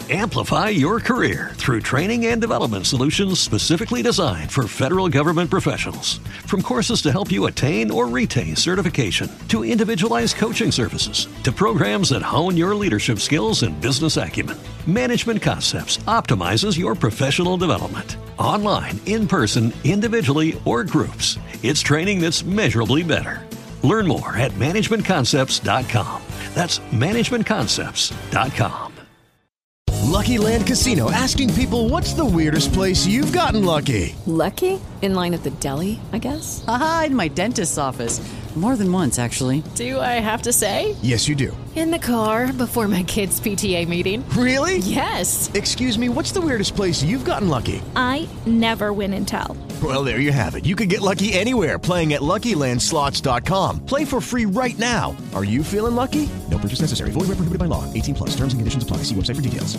Amplify your career through training and development solutions specifically designed for federal government professionals. From courses to help you attain or retain certification, to individualized coaching services, to programs that hone your leadership skills and business acumen, Management Concepts optimizes your professional development. Online, in person, individually, or groups, it's training that's measurably better. Learn more at managementconcepts.com. That's managementconcepts.com. Lucky Land Casino, asking people, what's the weirdest place you've gotten lucky? Lucky? In line at the deli, I guess? Aha, in my dentist's office. More than once, actually. Do I have to say? Yes, you do. In the car before my kids' PTA meeting. Really? Yes. Excuse me, what's the weirdest place you've gotten lucky? I never win and tell. Well, there you have it. You can get lucky anywhere, playing at LuckyLandSlots.com. Play for free right now. Are you feeling lucky? No purchase necessary. Void where prohibited by law. 18 plus. Terms and conditions apply. See website for details.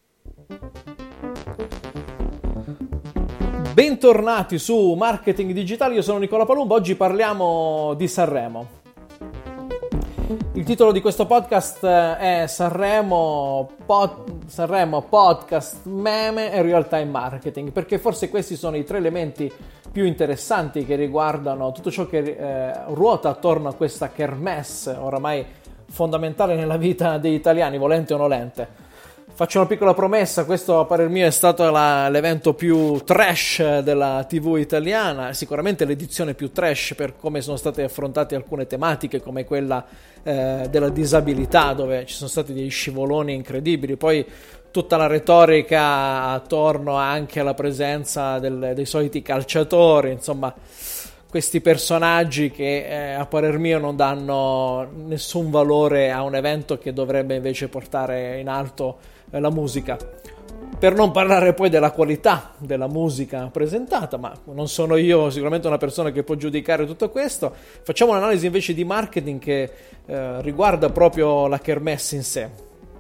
Bentornati su Marketing Digitale, io sono Nicola Palumbo, oggi parliamo di Sanremo. Il titolo di questo podcast è Sanremo Podcast, Meme e Real Time Marketing, perché forse questi sono i tre elementi più interessanti che riguardano tutto ciò che ruota attorno a questa kermesse, oramai fondamentale nella vita degli italiani, volente o nolente. Faccio una piccola promessa, questo a parer mio è stato l'evento più trash della TV italiana, sicuramente l'edizione più trash per come sono state affrontate alcune tematiche come quella della disabilità, dove ci sono stati degli scivoloni incredibili, poi tutta la retorica attorno anche alla presenza dei soliti calciatori, insomma questi personaggi che a parer mio non danno nessun valore a un evento che dovrebbe invece portare in alto la musica. Per non parlare poi della qualità della musica presentata, ma non sono io sicuramente una persona che può giudicare tutto questo. Facciamo un'analisi invece di marketing che riguarda proprio la kermesse in sé.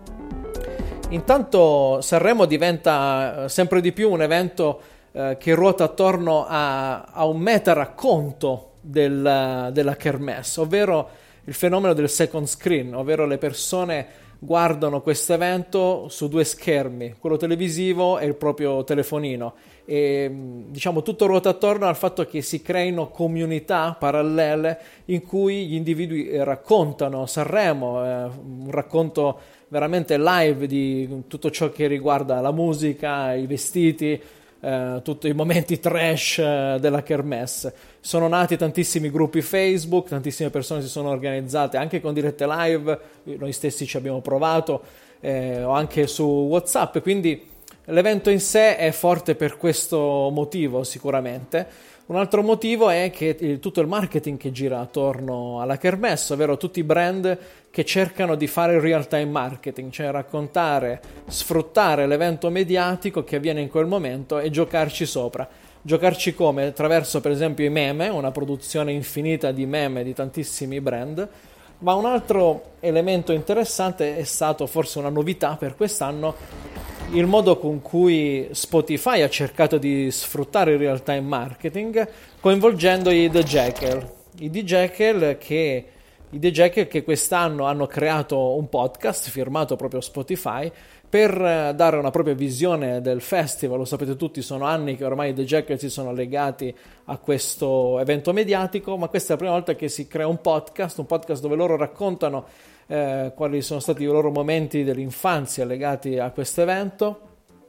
Intanto Sanremo diventa sempre di più un evento che ruota attorno a un meta racconto della kermesse, ovvero il fenomeno del second screen, ovvero le persone guardano questo evento su due schermi, quello televisivo e il proprio telefonino, e diciamo tutto ruota attorno al fatto che si creino comunità parallele in cui gli individui raccontano Sanremo, un racconto veramente live di tutto ciò che riguarda la musica, i vestiti, tutti i momenti trash della kermesse. Sono nati tantissimi gruppi Facebook, tantissime persone si sono organizzate anche con dirette live, noi stessi ci abbiamo provato, o anche su WhatsApp, quindi l'evento in sé è forte per questo motivo sicuramente. Un altro motivo è che tutto il marketing che gira attorno alla kermesse, ovvero tutti i brand che cercano di fare il real time marketing, cioè raccontare, sfruttare l'evento mediatico che avviene in quel momento e giocarci sopra. Giocarci come? Attraverso per esempio i meme, una produzione infinita di meme di tantissimi brand. Ma un altro elemento interessante è stato, forse una novità per quest'anno, il modo con cui Spotify ha cercato di sfruttare il real time marketing coinvolgendo i The Jackal. I The Jackal che quest'anno hanno creato un podcast firmato proprio Spotify per dare una propria visione del festival. Lo sapete tutti, sono anni che ormai i The Jackal si sono legati a questo evento mediatico, ma questa è la prima volta che si crea un podcast dove loro raccontano quali sono stati i loro momenti dell'infanzia legati a questo evento,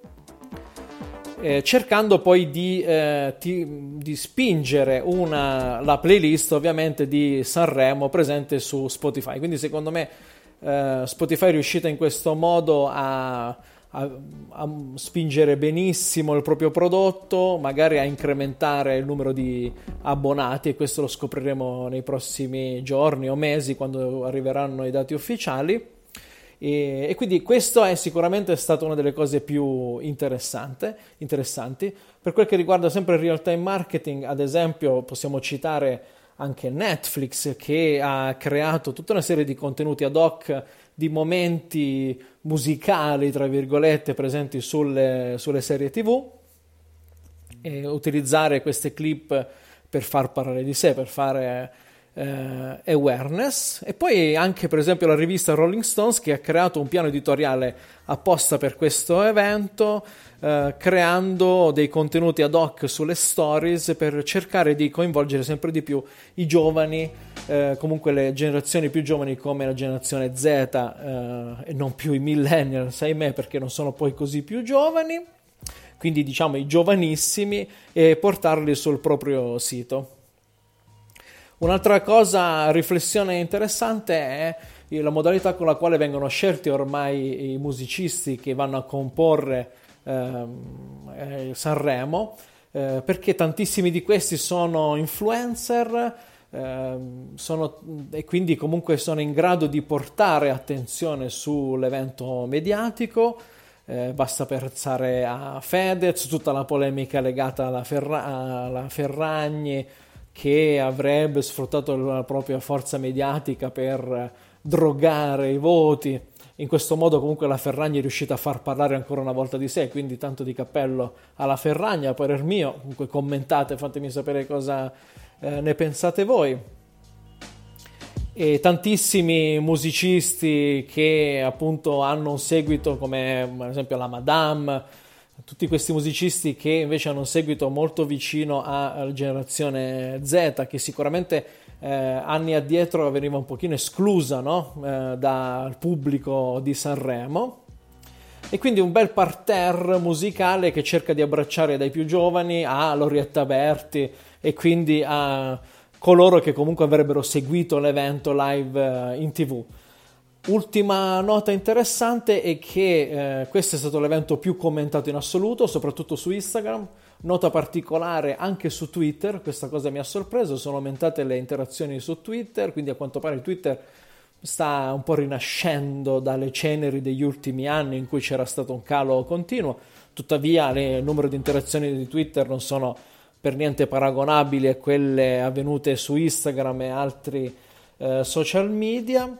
cercando poi di spingere la playlist ovviamente di Sanremo presente su Spotify. Quindi secondo me Spotify è riuscita in questo modo a spingere benissimo il proprio prodotto, magari a incrementare il numero di abbonati, e questo lo scopriremo nei prossimi giorni o mesi quando arriveranno i dati ufficiali, e quindi questo è sicuramente stata una delle cose più interessanti. Per quel che riguarda sempre il real time marketing, ad esempio possiamo citare anche Netflix, che ha creato tutta una serie di contenuti ad hoc di momenti musicali, tra virgolette, presenti sulle serie TV, e utilizzare queste clip per far parlare di sé, per fare awareness. E poi anche per esempio la rivista Rolling Stones, che ha creato un piano editoriale apposta per questo evento, creando dei contenuti ad hoc sulle stories per cercare di coinvolgere sempre di più i giovani, comunque le generazioni più giovani come la generazione Z, e non più i millennials, ahimè, perché non sono poi così più giovani, quindi diciamo i giovanissimi, e portarli sul proprio sito. Un'altra riflessione interessante è la modalità con la quale vengono scelti ormai i musicisti che vanno a comporre Sanremo, perché tantissimi di questi sono influencer, e quindi comunque sono in grado di portare attenzione sull'evento mediatico. Basta pensare a Fedez, tutta la polemica legata alla Ferragni, che avrebbe sfruttato la propria forza mediatica per drogare i voti. In questo modo comunque la Ferragni è riuscita a far parlare ancora una volta di sé, quindi tanto di cappello alla Ferragni, a parer mio. Comunque commentate, fatemi sapere cosa ne pensate voi. E tantissimi musicisti che appunto hanno un seguito, come ad esempio la Madame, tutti questi musicisti che invece hanno un seguito molto vicino alla generazione Z, che sicuramente anni addietro veniva un pochino esclusa, no? Dal pubblico di Sanremo. E quindi un bel parterre musicale che cerca di abbracciare dai più giovani a Lorietta Berti, e quindi a coloro che comunque avrebbero seguito l'evento live in TV. Ultima nota interessante è che questo è stato l'evento più commentato in assoluto, soprattutto su Instagram. Nota particolare anche su Twitter, questa cosa mi ha sorpreso, sono aumentate le interazioni su Twitter, quindi a quanto pare Twitter sta un po' rinascendo dalle ceneri degli ultimi anni in cui c'era stato un calo continuo. Tuttavia il numero di interazioni di Twitter non sono per niente paragonabili a quelle avvenute su Instagram e altri social media.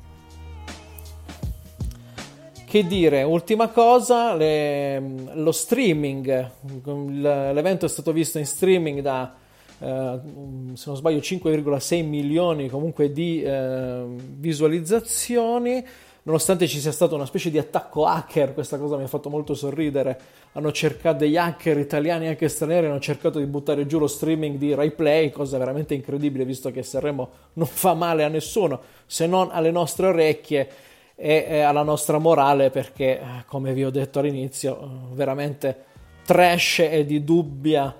Che dire, ultima cosa, lo streaming. L'evento è stato visto in streaming da, se non sbaglio, 5,6 milioni comunque di visualizzazioni, nonostante ci sia stato una specie di attacco hacker. Questa cosa mi ha fatto molto sorridere. Hanno cercato, degli hacker italiani e anche stranieri hanno cercato di buttare giù lo streaming di RaiPlay, cosa veramente incredibile, visto che Sanremo non fa male a nessuno, se non alle nostre orecchie e alla nostra morale, perché come vi ho detto all'inizio, veramente trash e di dubbia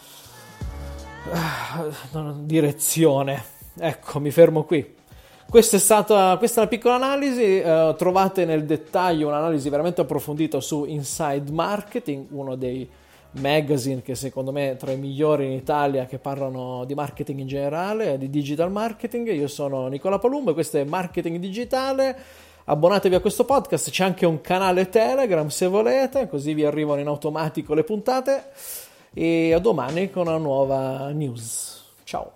direzione. Ecco, mi fermo qui. Questa è una piccola analisi. Trovate nel dettaglio un'analisi veramente approfondita su Inside Marketing, uno dei magazine che secondo me è tra i migliori in Italia, che parlano di marketing in generale, di digital marketing. Io sono Nicola Palumbo e questo è Marketing Digitale. Abbonatevi a questo podcast, c'è anche un canale Telegram se volete, così vi arrivano in automatico le puntate, e a domani con una nuova news. Ciao.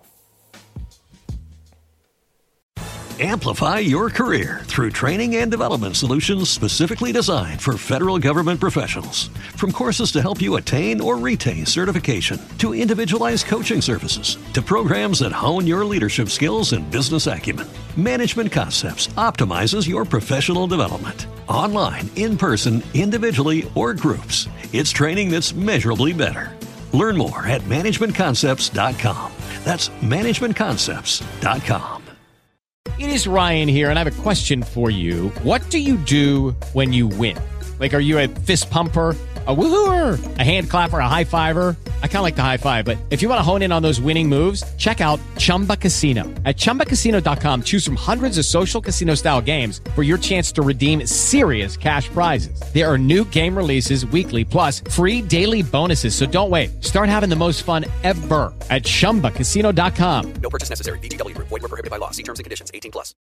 Amplify your career through training and development solutions specifically designed for federal government professionals. From courses to help you attain or retain certification, to individualized coaching services, to programs that hone your leadership skills and business acumen, Management Concepts optimizes your professional development. Online, in person, individually, or groups, it's training that's measurably better. Learn more at managementconcepts.com. That's managementconcepts.com. It is Ryan here, and I have a question for you. What do you do when you win? Like, are you a fist pumper, a woo-hooer, a hand clapper, a high fiver? I kind of like the high five, but if you want to hone in on those winning moves, check out Chumba Casino. At ChumbaCasino.com, choose from hundreds of social casino-style games for your chance to redeem serious cash prizes. There are new game releases weekly, plus free daily bonuses, so don't wait. Start having the most fun ever at ChumbaCasino.com. No purchase necessary. VGW Group. Void where prohibited by law. See terms and conditions. 18+.